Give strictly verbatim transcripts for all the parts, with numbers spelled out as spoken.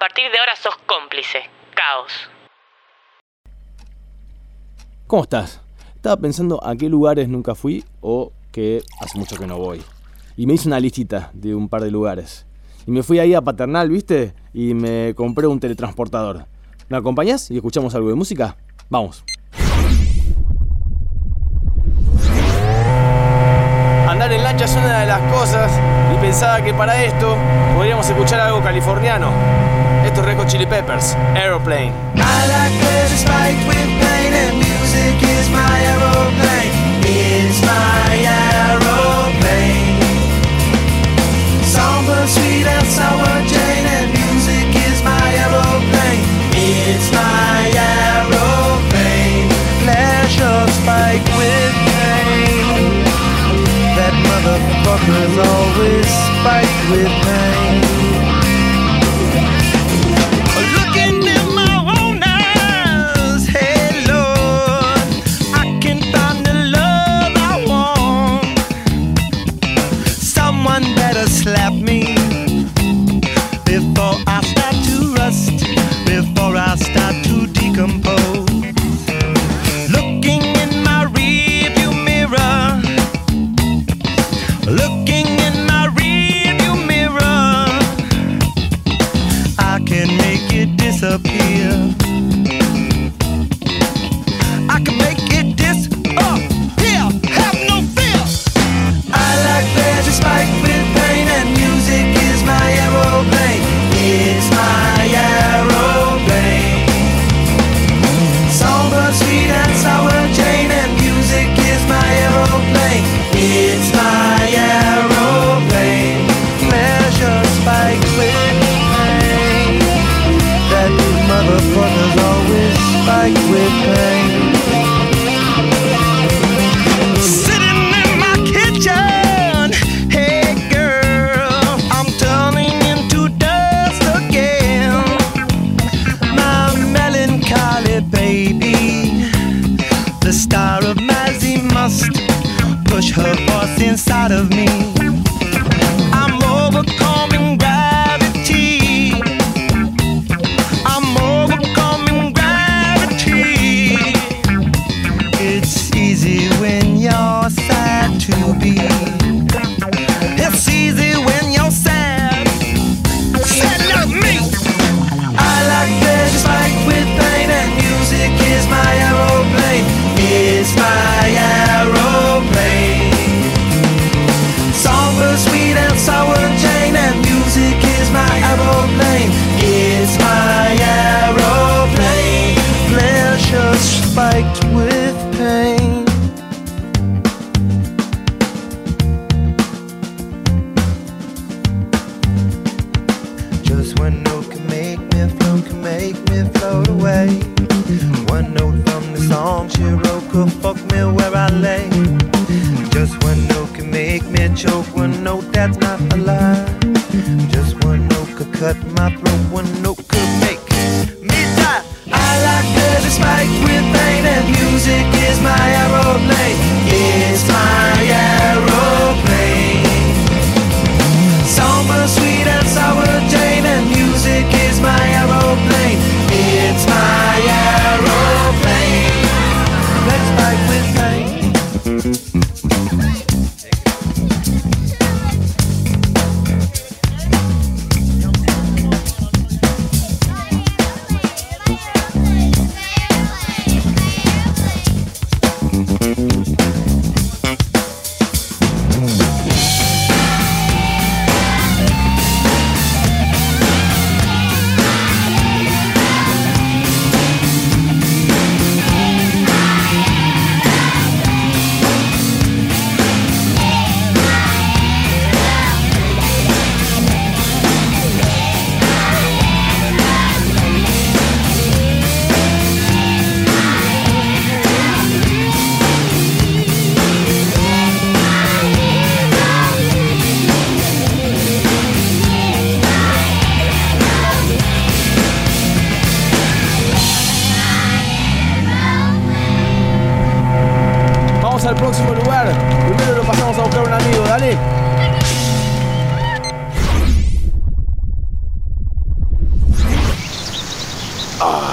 partir de ahora sos cómplice. Caos. ¿Cómo estás? Estaba pensando a qué lugares nunca fui o que hace mucho que no voy. Y me hice una listita de un par de lugares. Y me fui ahí a Paternal, ¿viste? Y me compré un teletransportador. ¿Me acompañás y escuchamos algo de música? Vamos. Andar en lancha es una de las cosas y pensaba que para esto podríamos escuchar algo californiano. Esto es Red Hot Chili Peppers, Aeroplane. I like pleasure spiked with pain and music is my aeroplane. It's my aeroplane. Songbird sweet and sour Jane and music is my aeroplane. It's my aeroplane. Pleasure spiked with pain. That motherfucker's always spiked with pain. Looking in my own eyes, hey Lord, I can find the love I want. Someone better slap me before I start to rust, before I start to decompose. Looking in my rearview mirror, looking in my rearview mirror, I can make it disappear. I can make it disappear. Have no fear. I like pleasure spiked with pain and music is my aeroplane. It's my aeroplane. Songbird sweet and sour Jane and music is my aeroplane. It's my aeroplane. Pleasure spiked with pain. That motherfucker's always spiked with pain. Sitting in my kitchen, hey girl, I'm turning into dust again. My melancholy baby, the star of Mazzy must push her voice inside of me. I'm overcoming gravity. I'm overcoming gravity. It's easy when you're sad to be. It's easy when you're sad. Sad like me. I like pleasure spiked with pain and music is my aeroplane. It's my aeroplane. Songbird sweet and sour Jane and music is my aeroplane. It's my aeroplane. Pleasure spiked with pain. Just one note can make me float, can make me float away. One note from the song she wrote could fuck me where I lay. Just one note can make me choke, one note that's not a lie. Just one note could cut my throat, one note could make me die. I like pleasure spiked with pain and music is my aeroplane. It's my aeroplane. Songbird sweet and sour Jane and music is my aeroplane. It's my aeroplane. Let's fight with pain.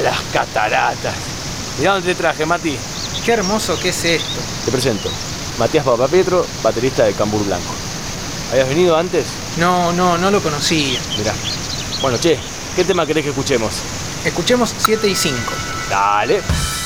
las cataratas. Mirá dónde te traje, Mati. Qué hermoso que es esto. Te presento. Matías Papapietro, baterista de Cambur Blanco. ¿Habías venido antes? No, no, no lo conocía. Mirá. Bueno, che, ¿qué tema querés que escuchemos? Escuchemos siete y cinco. Dale.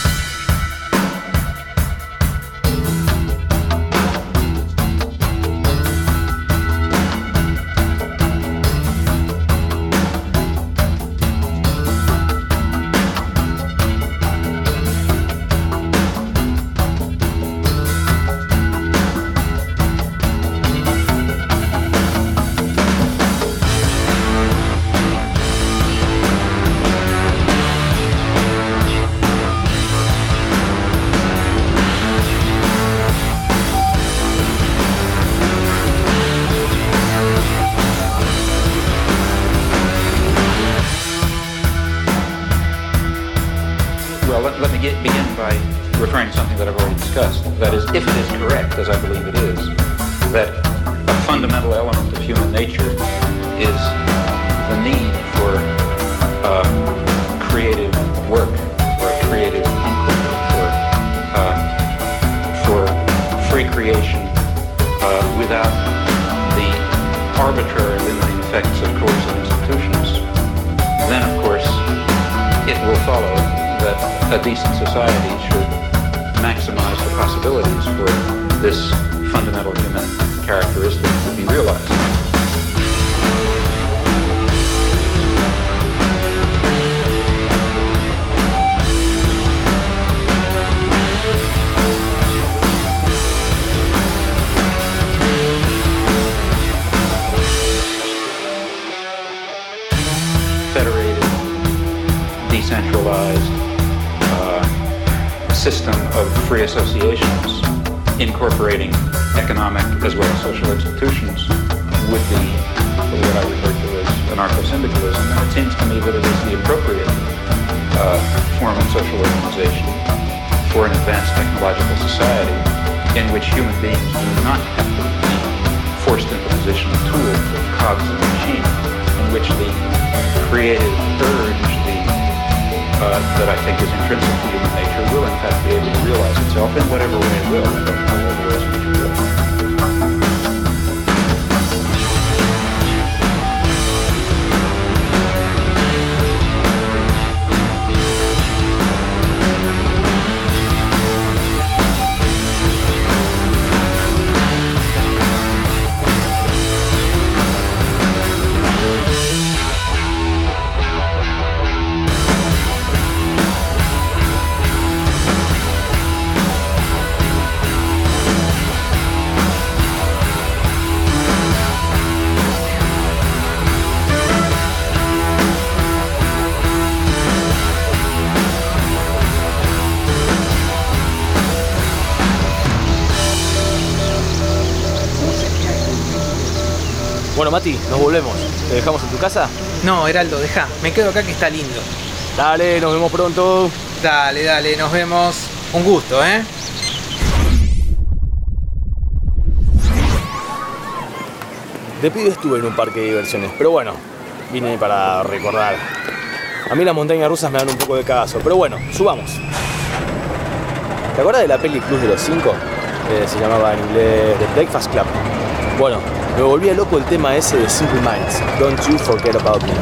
Well, let, let me get, begin by referring to something that I've already discussed. That is, if it is correct, as I believe it is, that a fundamental element of human nature is the need for uh, creative work, for creative inquiry, for, uh, for free creation uh, without the arbitrary limiting effects of coercive institutions, then, of course, it will follow that a decent society should maximize the possibilities for this fundamental human characteristic to be realized. Federated, decentralized system of free associations incorporating economic as well as social institutions would be what I refer to as anarcho-syndicalism, and it seems to me that it is the appropriate uh, form of social organization for an advanced technological society in which human beings do not have to be forced into the position of tools, of cogs in the machine, in which the creative urge, the Uh, that I think is intrinsic to human nature will in fact be able to realize itself in whatever way it will. I don't know whether it will, which it will. Bueno, Mati, nos volvemos. ¿Te dejamos en tu casa? No, Heraldo, dejá. Me quedo acá que está lindo. Dale, nos vemos pronto. Dale, dale, nos vemos. Un gusto, ¿eh? De pibe estuve en un parque de diversiones, pero bueno, vine para recordar. A mí las montañas rusas me dan un poco de cagazo, pero bueno, subamos. ¿Te acuerdas de la peli Club de los Cinco? Eh, se llamaba en inglés The Breakfast Club. Bueno, me volvía loco el tema ese de Simple Minds, Don't You Forget About Me.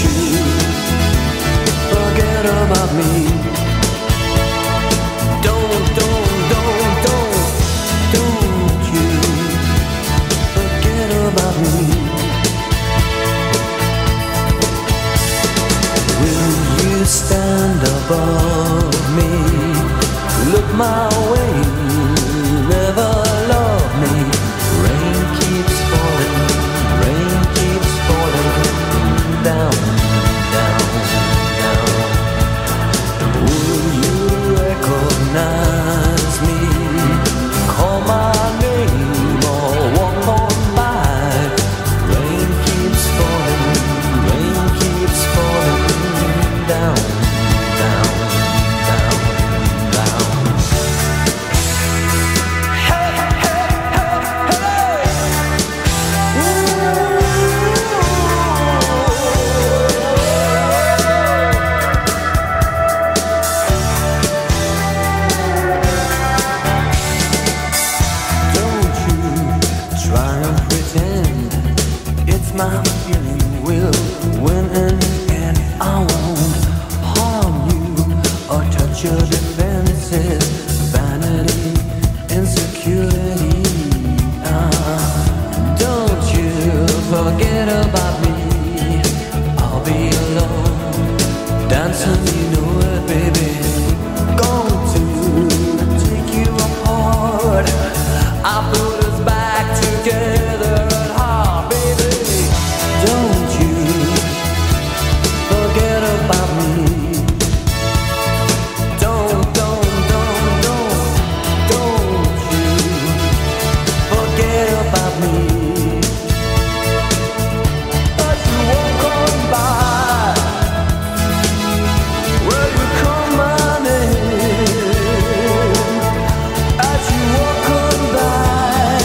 Don't your defenses, vanity, insecurity. Uh, don't you forget about me. I'll be alone, dancing, you know it, baby. Going to take you apart. I put us back together at heart, baby. Don't you forget about me. Don't, don't, don't, don't, don't you forget about me. But you won't come by. Will you come my name? As you walk on by,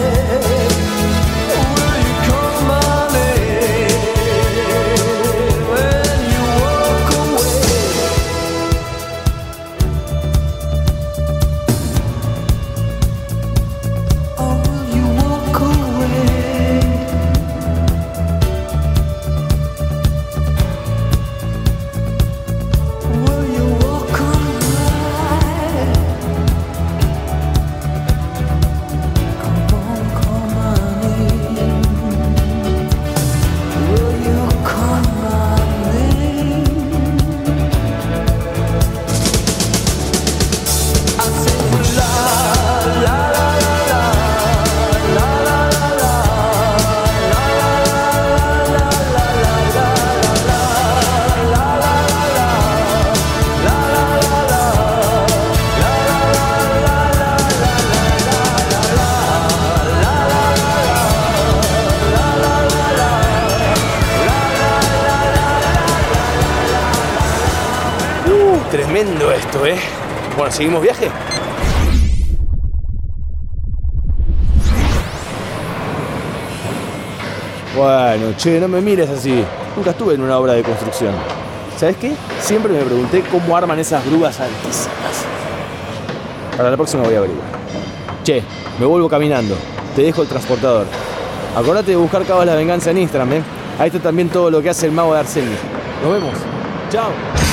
will you come my name? When you walk away, oh, will you walk away? Will you walk on by? Come on, call my name. Will you call my name? I say la la la la la la la la la Uh, tremendo esto, ¿eh? Bueno, ¿seguimos viaje? Bueno, che, no me mires así. Nunca estuve en una obra de construcción. ¿Sabes qué? Siempre me pregunté cómo arman esas grúas altísimas. Para la próxima voy a averiguar. Che, me vuelvo caminando. Te dejo el transportador. Acordate de buscar Cabos la Venganza en Instagram, ¿eh? Ahí está también todo lo que hace el mago de Arsenio. Nos vemos. Chao.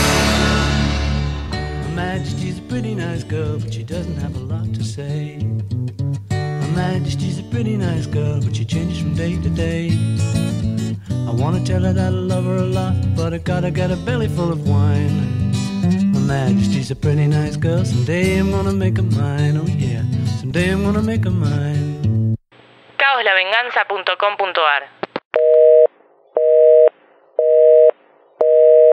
Her Majesty's a pretty nice girl, but she doesn't have a lot to say. Her Majesty's a pretty nice girl, but she changes from day to day. I wanna tell her that I love her a lot, but I gotta get a belly full of wine. Her Majesty's a pretty nice girl, someday I'm gonna make her mine, oh yeah, someday I'm gonna make her mine. caos la venganza punto com punto ar